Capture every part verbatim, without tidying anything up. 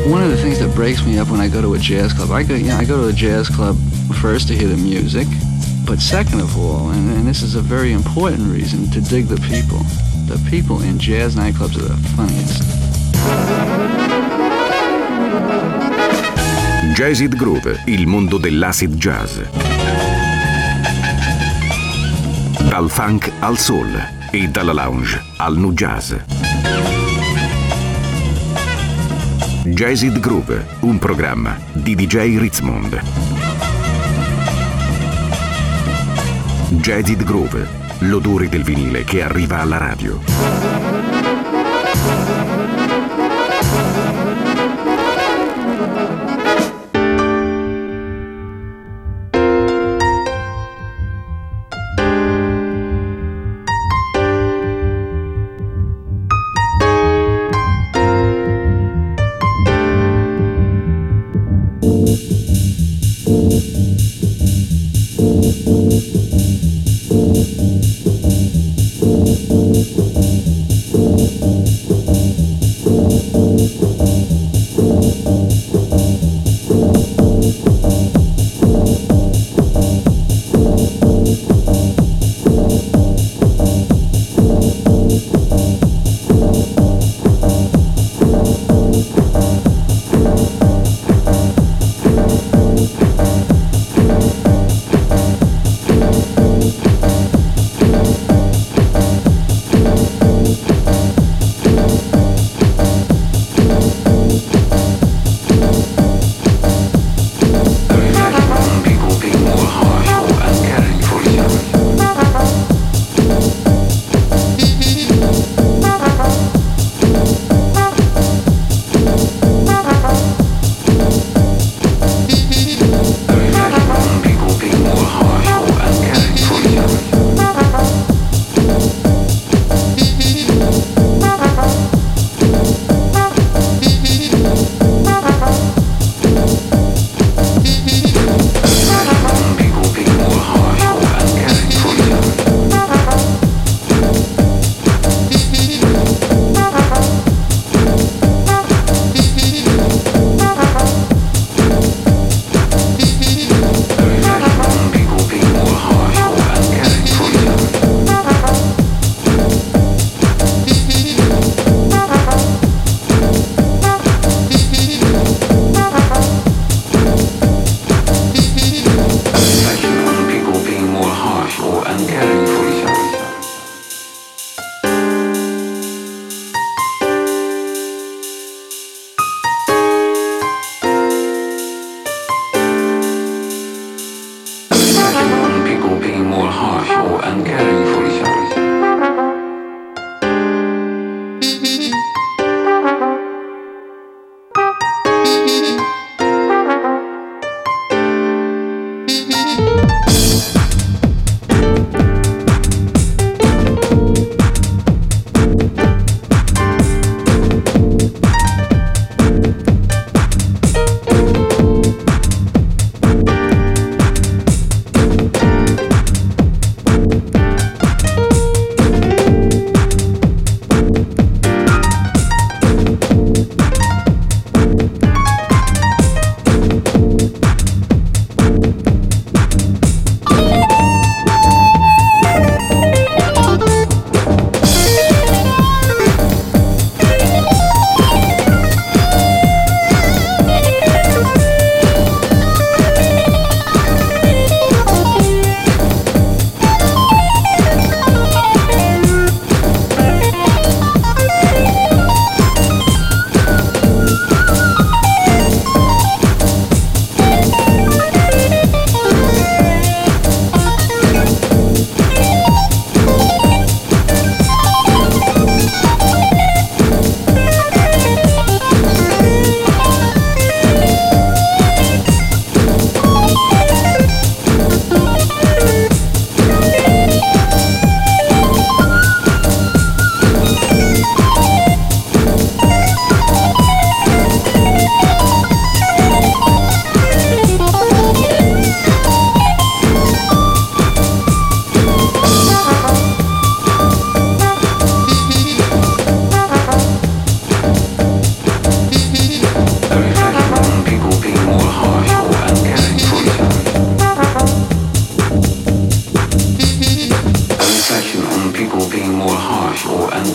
One of the things that breaks me up when I go to a jazz club, I go, you know, I go to a jazz club first to hear the music, but second of all, and, and this is a very important reason, to dig the people. The people in jazz nightclubs are the funniest. Jazzid Groove, il mondo dell'acid jazz. Dal funk al soul e dalla lounge al nu jazz. Jazzid Groove, un programma di D J Ritzmond. Jazzid Groove, l'odore del vinile che arriva alla radio.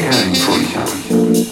caring for you.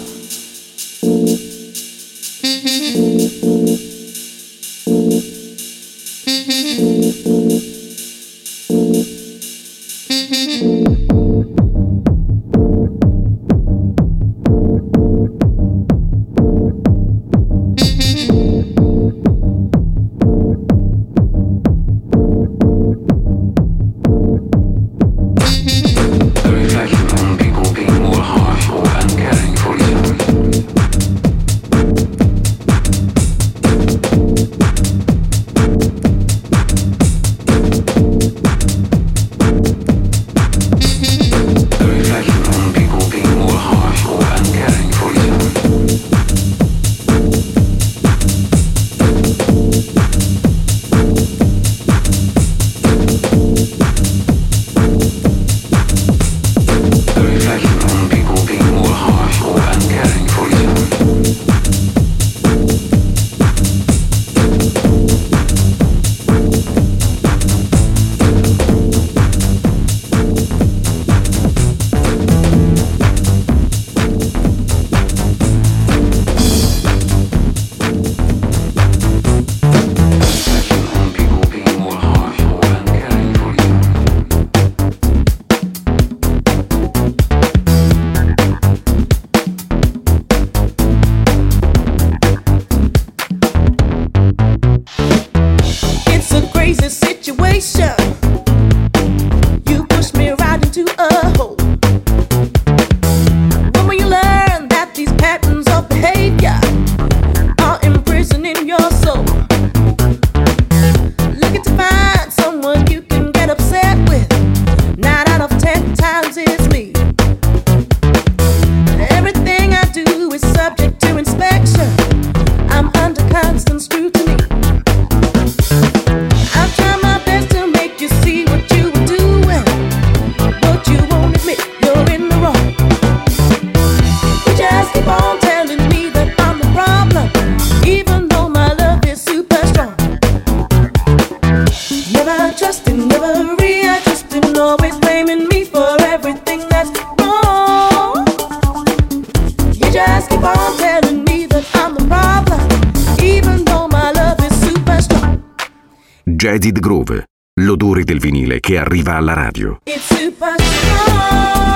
Jaded Groove, l'odore del vinile che arriva alla radio. It's super strong.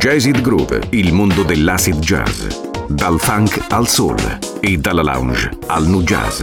Jazzid Groove, il mondo dell'acid jazz. Dal funk al soul e dalla lounge al nu jazz.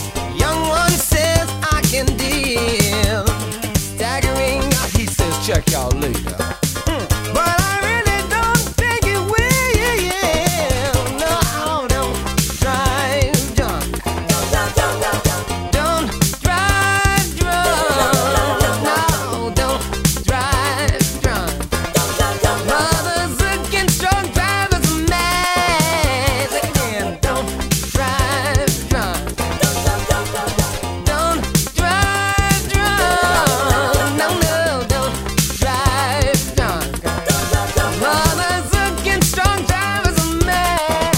check y'all later. But I really don't think it will. No, don't drive drunk. Don't drive drunk. No, don't drive drunk. Mothers against drunk drivers are mad. Again, don't drive drunk. Don't drive drunk. No, no, don't drive drunk. Mothers against drunk drivers are mad.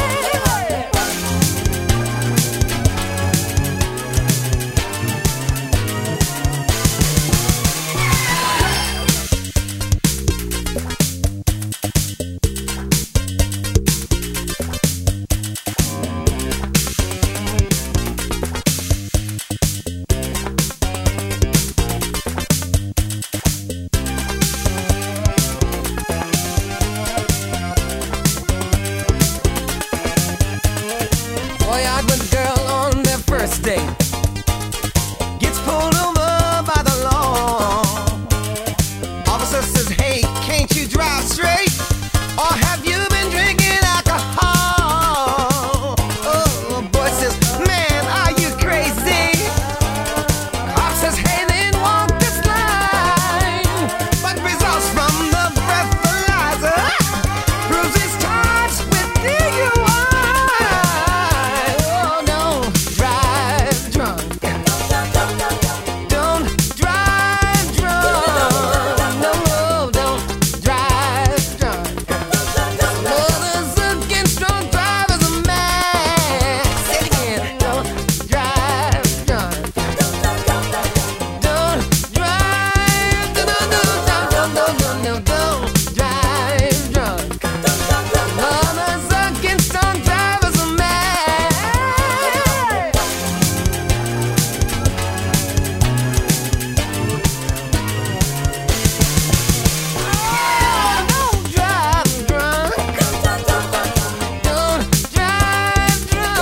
Boy out with a girl on their first date, gets pulled over by the law. Officer says, hey, can't you drive straight? Or have you been drinking alcohol? Oh, boy says, man, are you crazy? Cop says, hey, then walk this line. But results from the breathalyzer proves he's charged with D U I. Oh, don't drive drunk. Don't drive drunk. No, no, don't drive drunk. Mothers against drunk drivers are mad. Say it again. Don't drive drunk. Don't drive. No, no, no, no, no, no, no, don't drive drunk. Mothers against drunk drivers are mad. Don't drive drunk. Don't drive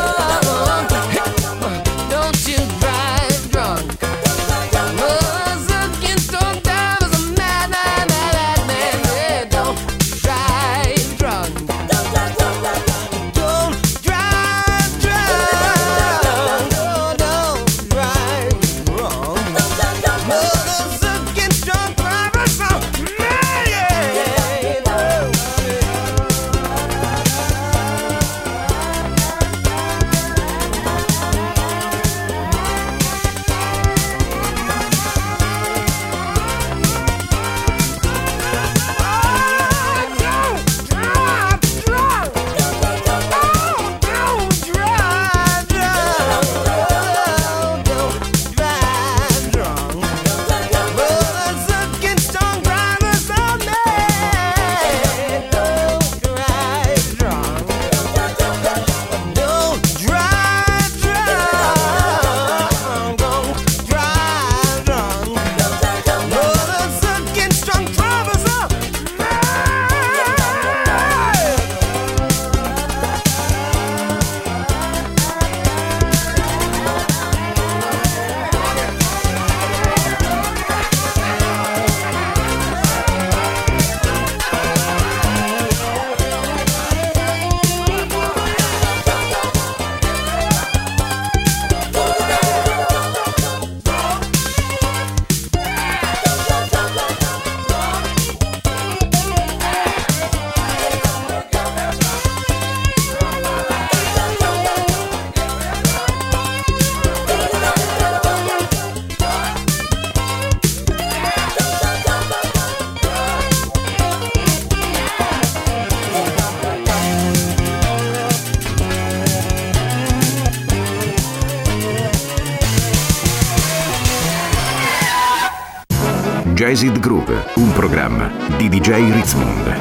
drunk. Don't you drive drunk. Mothers against drunk drivers are mad, mad, mad, mad, mad. Don't drive drunk. Don't drive drunk. No, don't drive wrong. Mothers against drunk drivers are mad. Jazzed Groove, un programma di D J Ritzmond.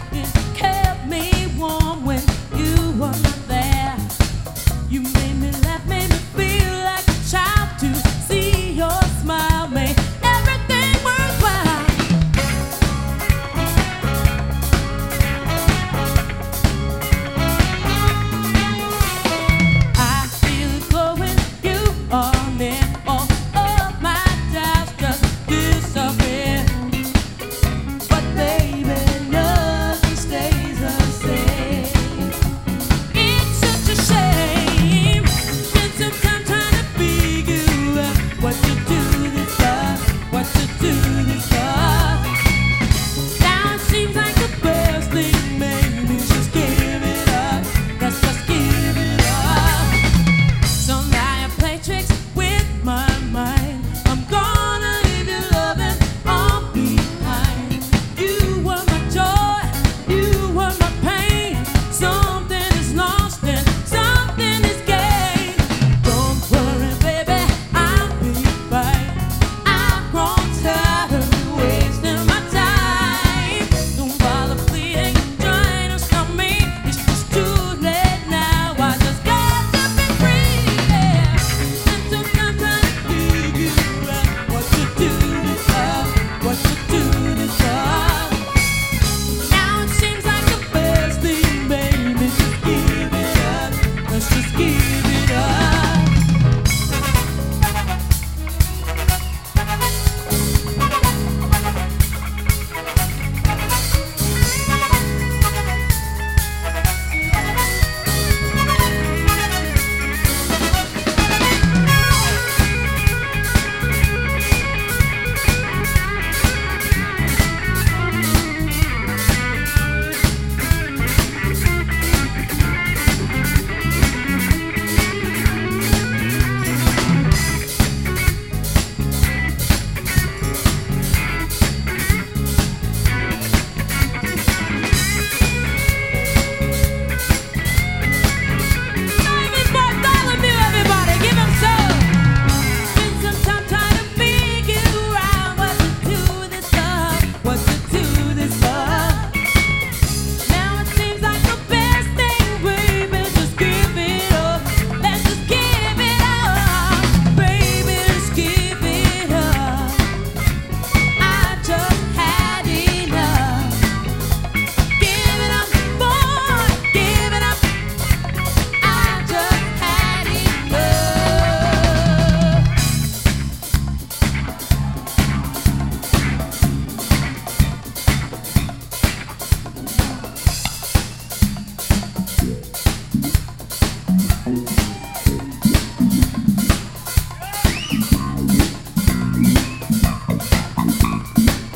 You made me laugh.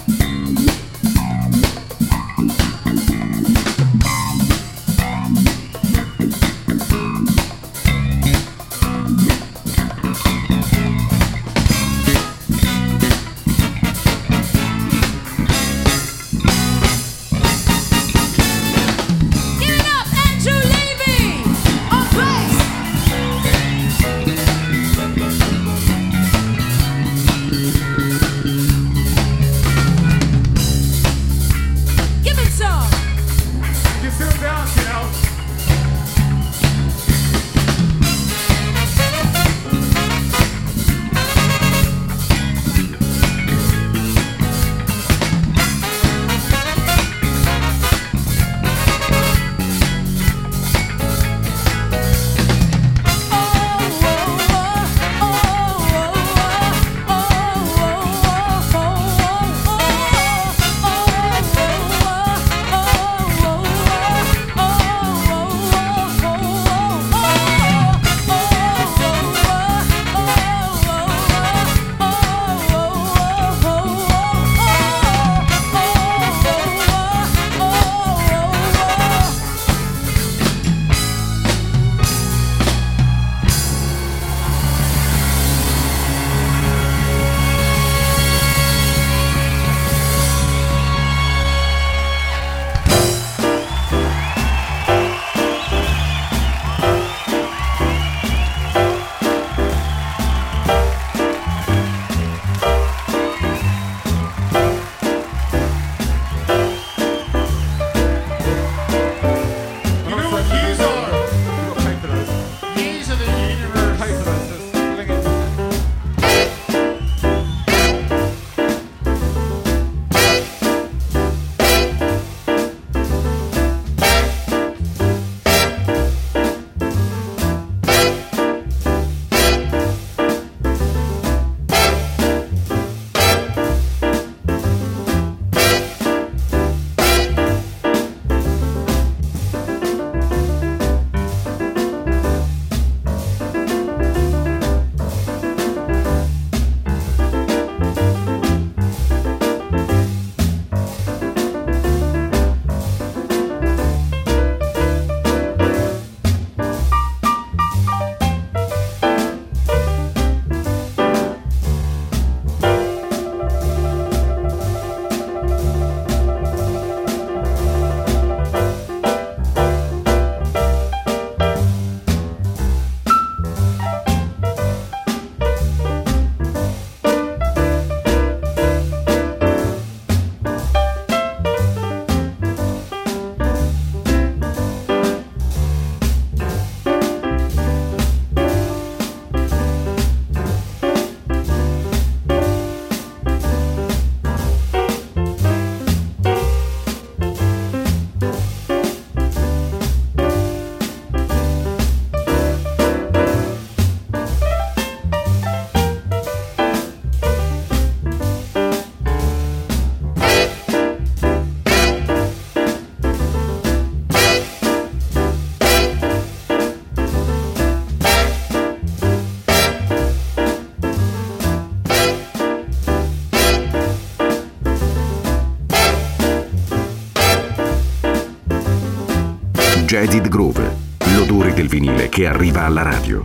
Jaded Groove, l'odore del vinile che arriva alla radio.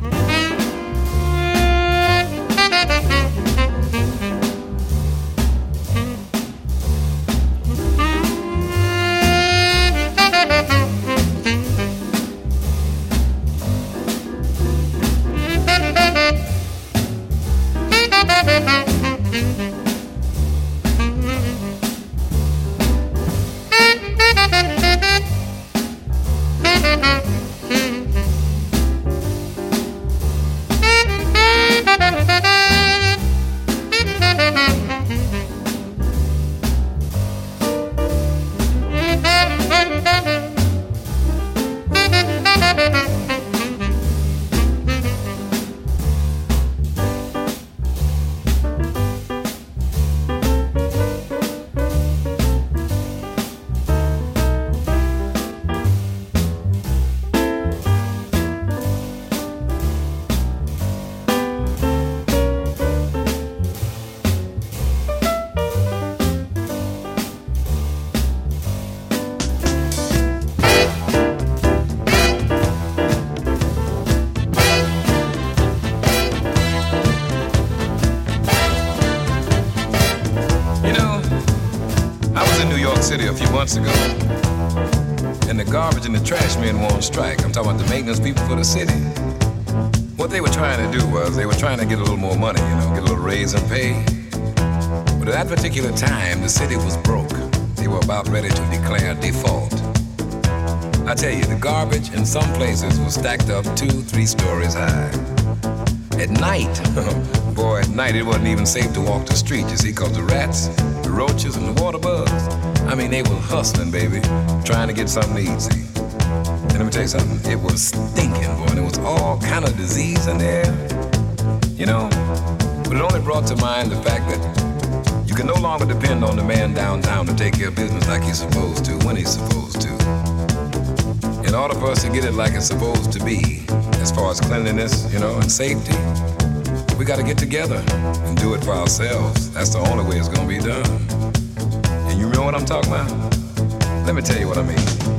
city a few months ago, and the garbage and the trash men were on strike. I'm talking about the maintenance people for the city. What they were trying to do was they were trying to get a little more money, you know, get a little raise and pay. But at that particular time, the city was broke. They were about ready to declare default. I tell you, the garbage in some places was stacked up two, three stories high. At night, boy, at night it wasn't even safe to walk the street, you see, because the rats, the roaches, and the water bugs, I mean, they were hustling, baby, trying to get something to eat, see. And let me tell you something, it was stinking, boy, and there was all kind of disease in there, you know. But it only brought to mind the fact that you can no longer depend on the man downtown to take care of business like he's supposed to, when he's supposed to. In order for us to get it like it's supposed to be, as far as cleanliness, you know, and safety, we got to get together and do it for ourselves. That's the only way it's going to be done. And you know what I'm talking about? Let me tell you what I mean.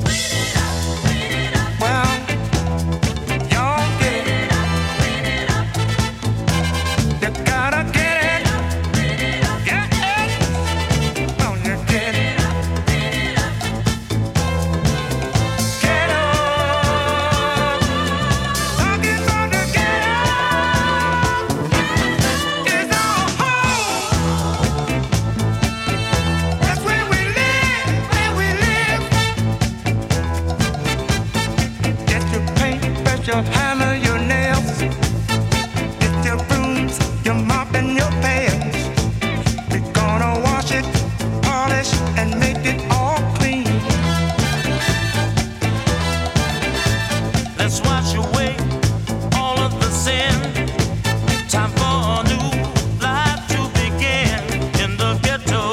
Well, y'all get it. You gotta get it. Get it. Don't you get it? Get up. Talking about the get up. It's our home. That's where we live, where we live. Get your paint, brush your hammer, your nails. Get your brooms, your mop and your pails. We're gonna wash it, polish, and make it all clean. Let's wash away all of the sin. Time for a new life to begin in the ghetto.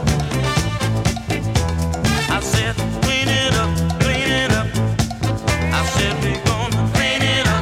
I said, clean it up, clean it up. I said, we're gonna clean it up.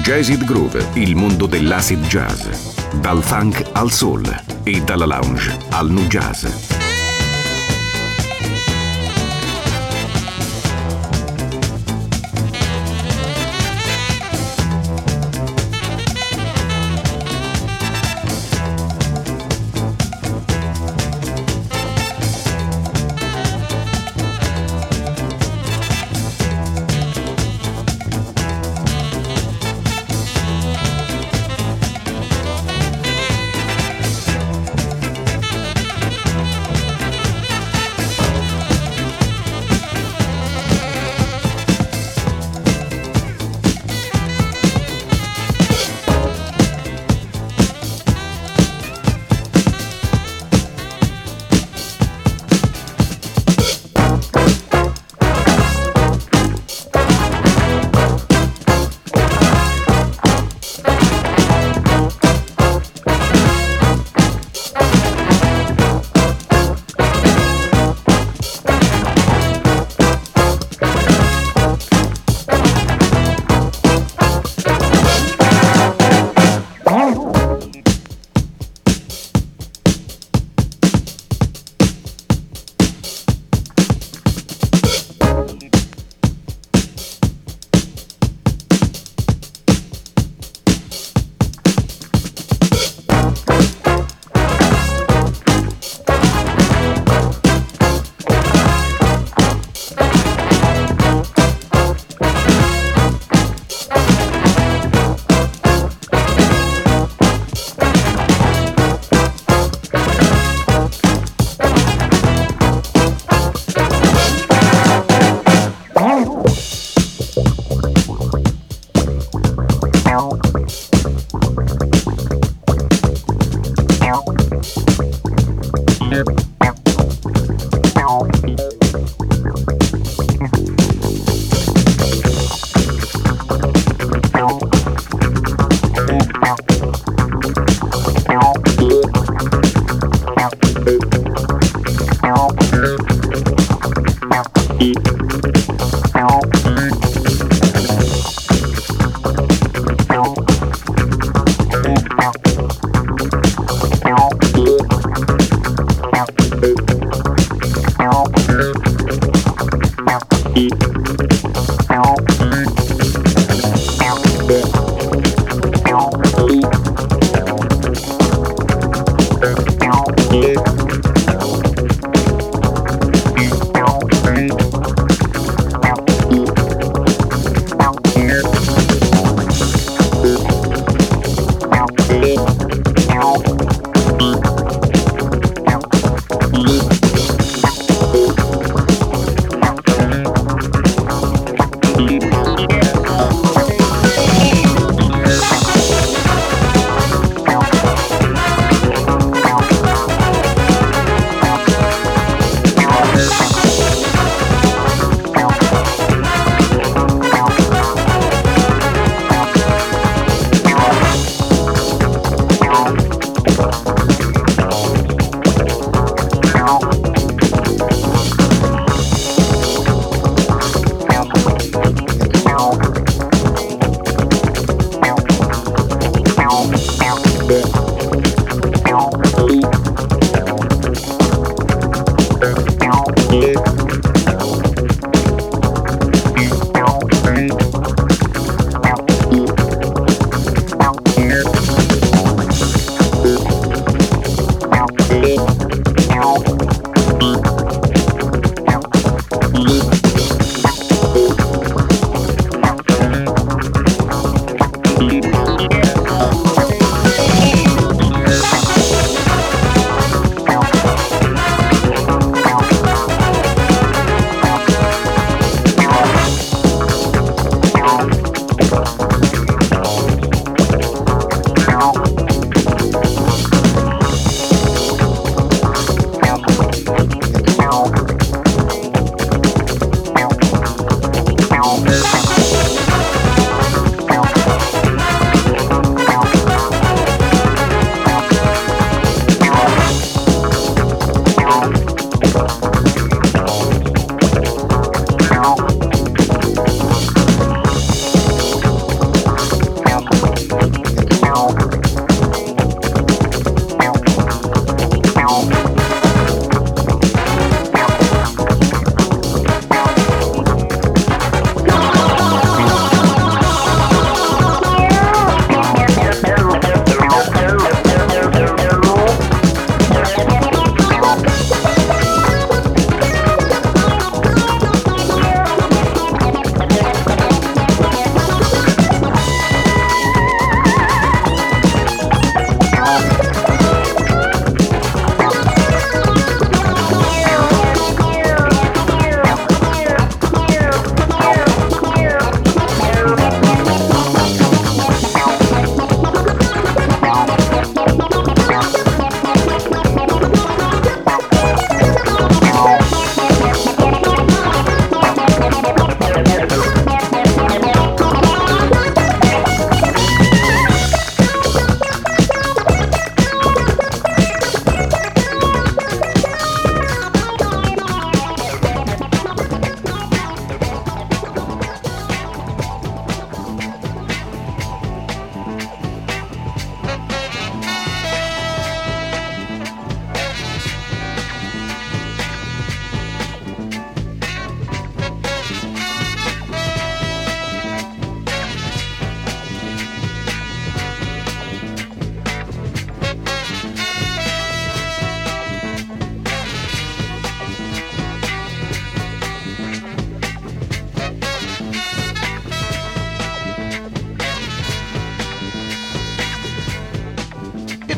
Jazzid Groove, il mondo dell'acid jazz. Dal funk al soul e dalla lounge al nu jazz.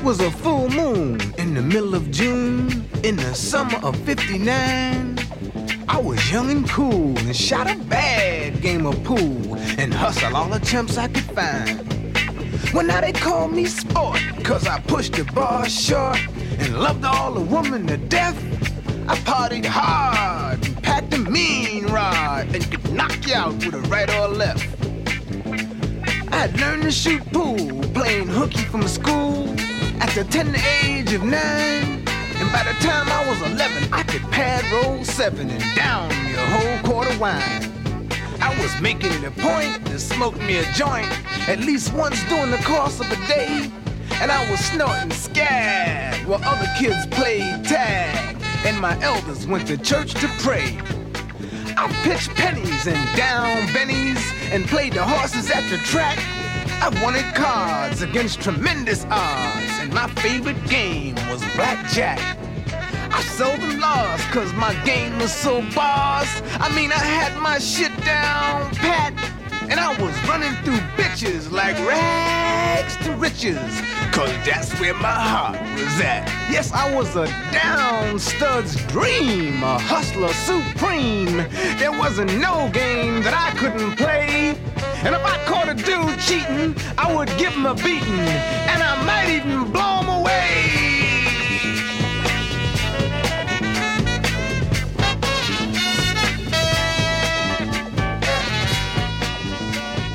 It was a full moon in the middle of June, in the summer of fifty-nine. I was young and cool and shot a bad game of pool and hustled all the chumps I could find. Well, now they call me sport, cause I pushed the bar short and loved all the women to death. I partied hard and packed a mean rod and could knock you out with a right or left. I had learned to shoot pool, playing hooky from school at the tender age of nine. And by the time I was eleven, I could pad roll seven and down me a whole quart of wine. I was making it a point to smoke me a joint at least once during the course of a day. And I was snorting scab while other kids played tag and my elders went to church to pray. I pitched pennies and down bennies and played the horses at the track. I wanted cards against tremendous odds, and my favorite game was blackjack. I seldom lost cause my game was so boss. I mean, I had my shit down pat, and I was running through bitches like rags to riches, cause that's where my heart was at. Yes, I was a down stud's dream, a hustler supreme. There wasn't no game that I couldn't play. And if I caught a dude cheating, I would give him a beating, and I might even blow him away.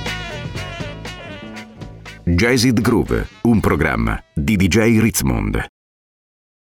Jazzed Groove, un programma di D J Ritzmond.